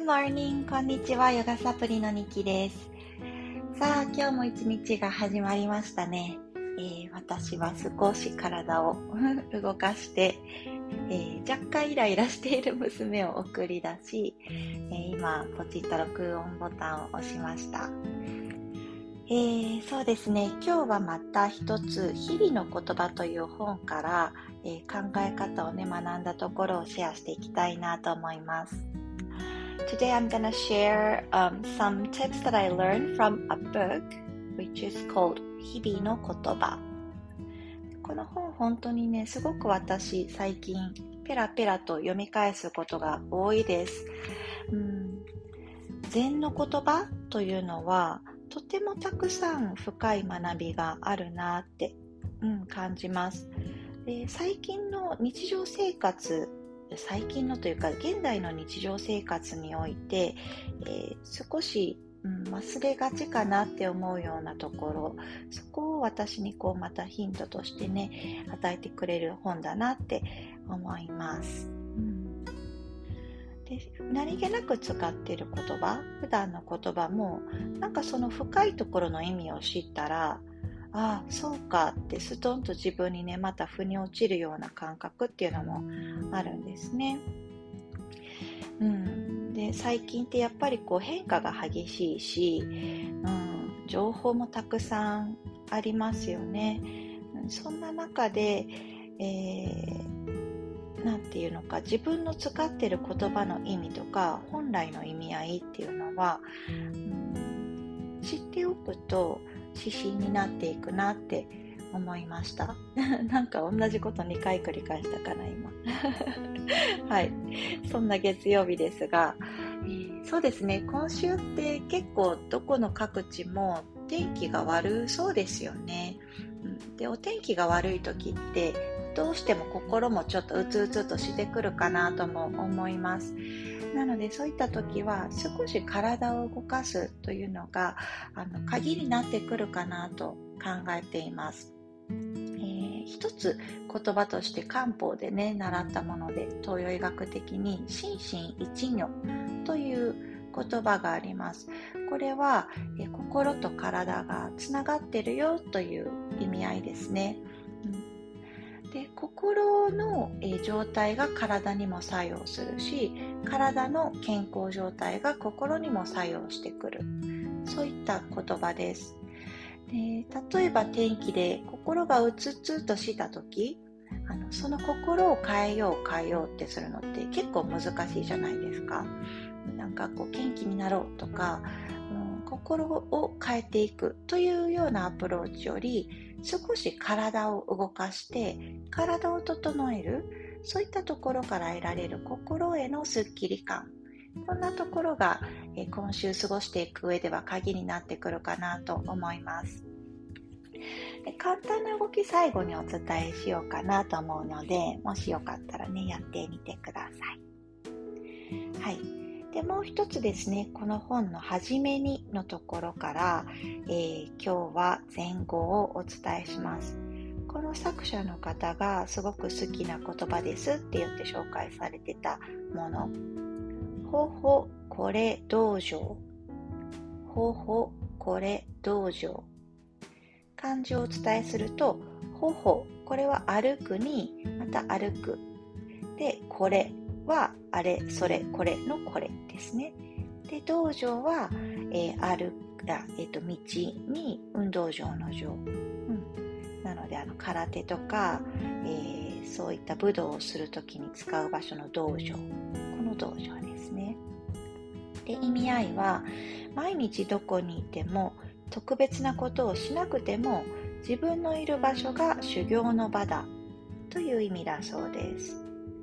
Good morning! こんにちは。ヨガサプリのニキです。さあ、今日も一日が始まりましたね。私は少し体を動かして、若干イライラしている娘を送り出し、今、ポチッと録音ボタンを押しました。そうですね。今日はまた一つ、日々の言葉という本から、考え方をね、学んだところをシェアしていきたいなと思います。Today I'm gonna share some tips that I learned from a book which is called 日々の言葉。この本本当にね、すごく私最近ペラペラと読み返すことが多いです。禅の言葉というのはとてもたくさん深い学びがあるなって、感じます。で、最近の日常生活最近のというか現代の日常生活において、少し、忘れがちかなって思うようなところ、そこを私にまたヒントとしてね与えてくれる本だなって思います。で、何気なく使っている言葉、普段の言葉もなんかその深いところの意味を知ったら、ああそうかってストンと自分にねまた腑に落ちるような感覚っていうのもあるんですね。で、最近ってやっぱり変化が激しいし、情報もたくさんありますよね。そんな中で、なんていうのか、自分の使っている言葉の意味とか本来の意味合いっていうのは、知っておくと指針になっていくなって思いましたなんか同じこと2回繰り返したかな今はい、そんな月曜日ですが、そうですね、今週って結構どこの各地も天気が悪そうですよね。で、お天気が悪い時ってどうしても心もちょっとうつうつとしてくるかなとも思います。なのでそういった時は少し体を動かすというのが鍵になってくるかなと考えています。一つ言葉として漢方でね習ったもので、東洋医学的に心身一如という言葉があります。これは心と体がつながっているよという意味合いですね。で、心の状態が体にも作用するし、体の健康状態が心にも作用してくる、そういった言葉です。で、例えば天気で心がうつうつとした時、その心を変えようってするのって結構難しいじゃないですか。なんか元気になろうとか、心を変えていくというようなアプローチより、少し体を動かして体を整える、そういったところから得られる心へのスッキリ感、こんなところが今週過ごしていく上では鍵になってくるかなと思います。で、簡単な動き最後にお伝えしようかなと思うので、もしよかったらねやってみてください。はい。で、もう一つですね、この本の初めにのところから、今日は前後をお伝えします。この作者の方がすごく好きな言葉ですって言って紹介されてたもの、ほほこれ道場、ほほこれ道場、漢字をお伝えすると、ほほ、これは歩くにまた歩くで、これはあれそれこれのこれですね。で、道場は、道に運動場の場、なので空手とか、そういった武道をするときに使う場所の道場、この道場ですね。で、意味合いは毎日どこにいても特別なことをしなくても自分のいる場所が修行の場だという意味だそうです。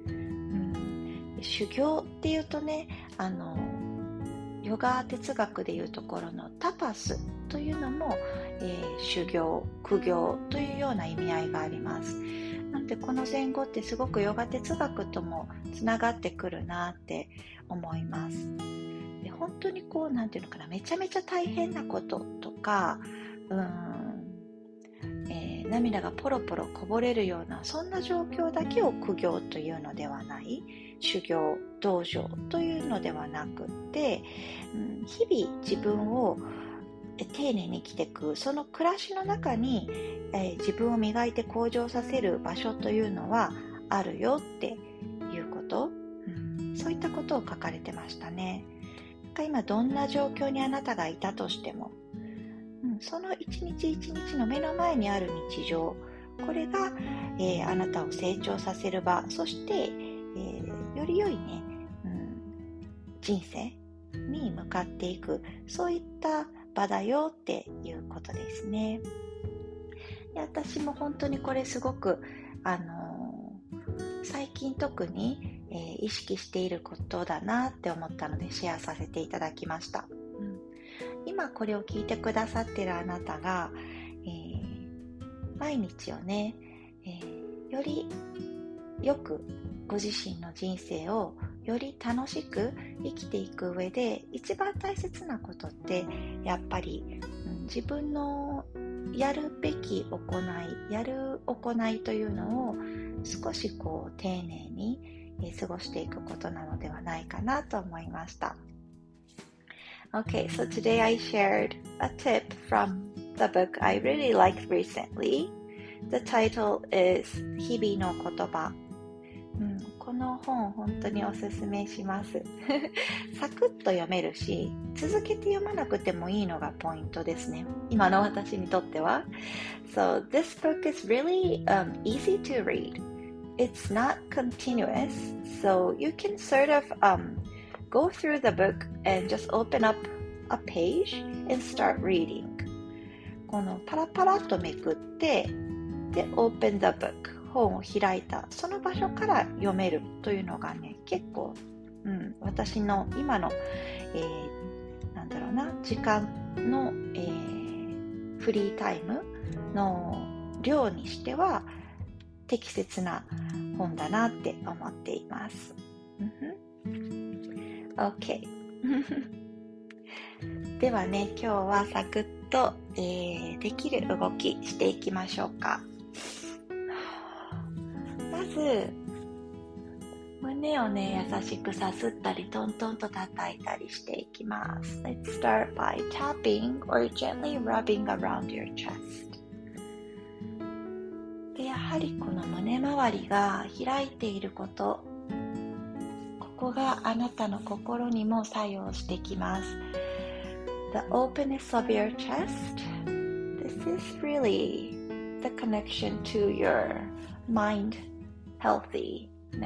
修行っていうとね、ヨガ哲学でいうところのタパスというのも、修行、苦行というような意味合いがあります。なのでこの前後ってすごくヨガ哲学ともつながってくるなって思います。で、本当になんていうのかな、めちゃめちゃ大変なこととか、 涙がポロポロこぼれるようなそんな状況だけを苦行というのではない、修行道場というのではなくって、日々自分を丁寧に生きていくその暮らしの中に、自分を磨いて向上させる場所というのはあるよっていうこと、そういったことを書かれてましたね。今どんな状況にあなたがいたとしても、その一日一日の目の前にある日常、これが、あなたを成長させる場、そして、より良いね、人生に向かっていく、そういった場だよっていうことですね。で、私も本当にこれすごく、最近特に、意識していることだなって思ったのでシェアさせていただきました。今これを聞いてくださっているあなたが、毎日をね、よりよくご自身の人生をより楽しく生きていく上で一番大切なことってやっぱり、自分のやるべき行い、やる行いというのを少し丁寧に過ごしていくことなのではないかなと思いました。Okay, so today I shared a tip from the book I really liked recently. The title is 日々の言葉。この本本当におすすめします。サクッと読めるし、続けて読まなくてもいいのがポイントですね。今の私にとっては。So this book is really easy to read. It's not continuous, so you can sort of go through the book and just open up a page and start reading. このパラパラっとめくって、で、open the book。本を開いたその場所から読めるというのがね、結構、私の今の、時間の、フリータイムの量にしては適切な本だなって思っています。OK ではね、今日はサクッと、できる動きしていきましょうか。まず胸をね、優しくさすったりトントンと叩いたりしていきます。 Let's start by tapping or gently rubbing around your chest. で、やはりこの胸周りが開いていること、ここがあなたの心にも作用してきます。 The openness of your chest, this is really the connection to your mind healthiness.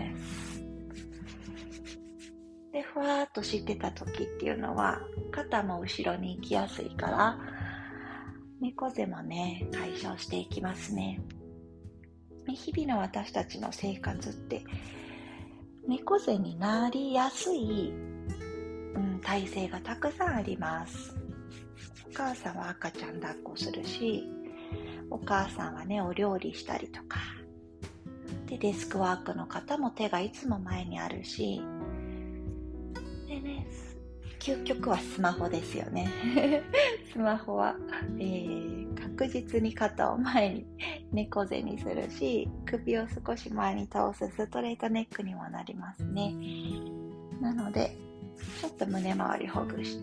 で、ふわーっとしてた時っていうのは肩も後ろに行きやすいから猫背もね、解消していきますね。日々の私たちの生活って猫背になりやすい、体勢がたくさんあります。お母さんは赤ちゃん抱っこするし、お母さんはね、お料理したりとかで、デスクワークの方も手がいつも前にあるし、でね、究極はスマホですよね。スマホは、確実に肩を前に猫背にするし、首を少し前に倒すストレートネックにもなりますね。なのでちょっと胸周りほぐして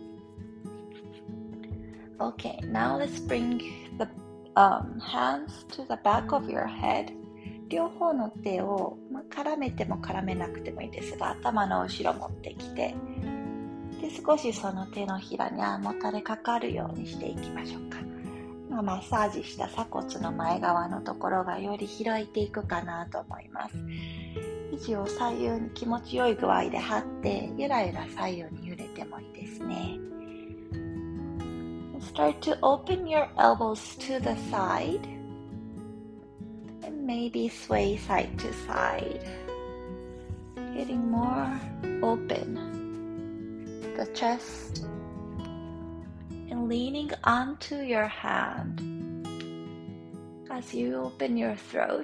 、Okay, now let's bring the hands to the back of your head. 両方の手を、絡めても絡めなくてもいいですが、頭の後ろ持ってきて、で、少しその手のひらにもたれかかるようにしていきましょうか。今マッサージした鎖骨の前側のところがより開いていくかなと思います。肘を左右に気持ちよい具合で張って、ゆらゆら左右に揺れてもいいですね。Start to open your elbows to the side and maybe sway side to side, getting more open the chest and leaning onto your hand as you open your throat.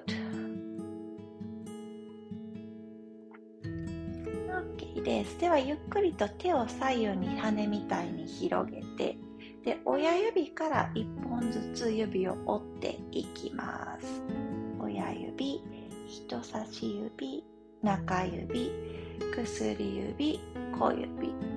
OK です。ではゆっくりと手を左右に羽みたいに広げて、 で、親指から1本ずつ指を折っていきます。親指、人差し指、中指、薬指、小指。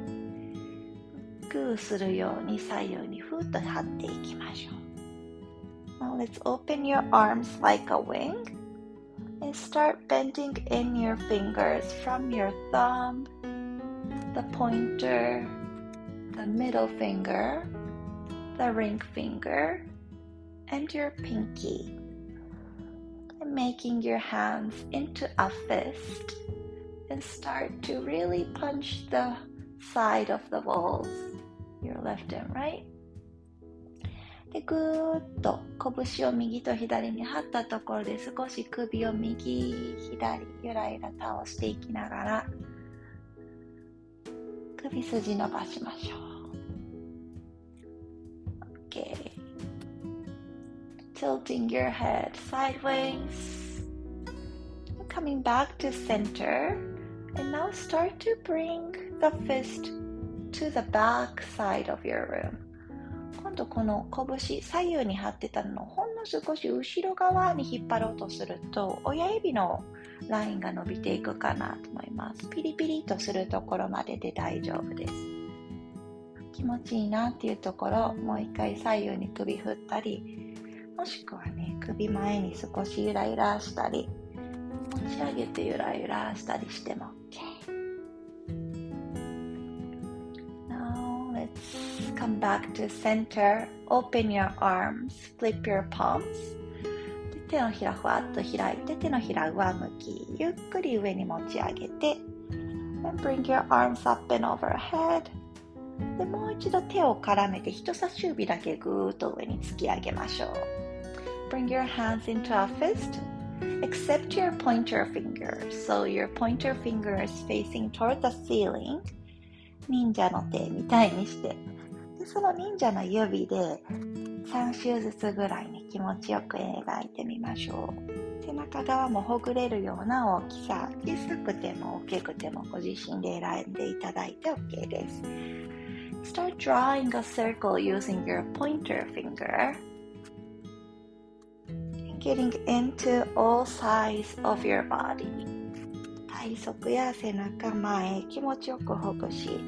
グーするように左右にふっと張っていきましょう。Now let's open your arms like a wing and start bending in your fingers from your thumb, the pointer, the middle finger, the ring finger, and your pinky. And making your hands into a fist and start to really punch the side of the walls, your left and right. で、ぐーっと拳を右と左に張ったところで少し首を右、左、ゆらゆら倒していきながら首筋伸ばしましょう。Okay. Tilting your head sideways. Coming back to center. And now start to bring the fist to the back side of your room. 今度この拳左右に張ってたのをほんの少し後ろ側に引っ張ろうとすると親指のラインが伸びていくかなと思います。ピリピリとするところまでで大丈夫です。気持ちいいなっていうところもう一回左右に首振ったり、もしくはね首前に少しゆらゆらしたり持ち上げてゆらゆらしたりしても OK。Now let's come back to center. Open your arms, flip your palms. 手のひらふわっと開いて手のひら上向き、ゆっくり上に持ち上げて and bring your arms up and overhead. でもう一度手を絡めて人差し指だけぐーっと上に突き上げましょう。Bring your hands into a fist.Except your pointer finger. So your pointer finger is facing toward the ceiling. 忍者の手みたいにして。でその忍者の指で3周ずつぐらいに気持ちよく描いてみましょう。背中側もほぐれるような大きさ。小さくても大きくてもご自身で選んでいただいて OK です。Start drawing a circle using your pointer finger.Getting into all sides of your body. 体側や背中前気持ちよくほぐし、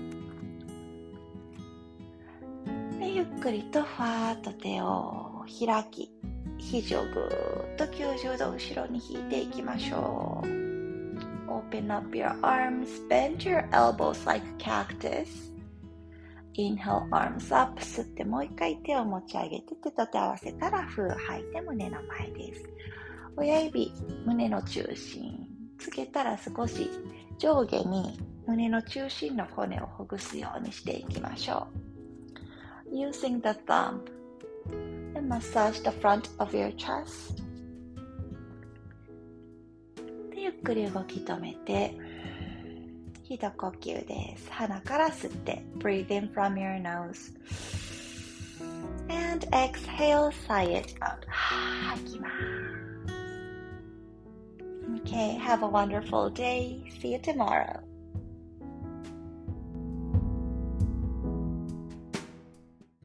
でゆっくりとふわっと手を開き、肘をぐーっと90度後ろに引いていきましょう。Open up your arms, bend your elbows like cactus.Inhale, arms up. 吸ってもう一回手を持ち上げて手と手合わせたら風吐いて胸の前です。親指、胸の中心。つけたら少し上下に胸の中心の骨をほぐすようにしていきましょう。Using the thumb and massage the front of your chest. でゆっくり動き止めて一呼吸です。鼻から吸って Breathe in from your nose and exhale, sigh it out. 吐きます。Okay, have a wonderful day. See you tomorrow.